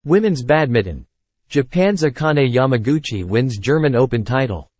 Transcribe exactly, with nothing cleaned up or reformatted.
Women's badminton. Japan's Akane Yamaguchi wins German Open title.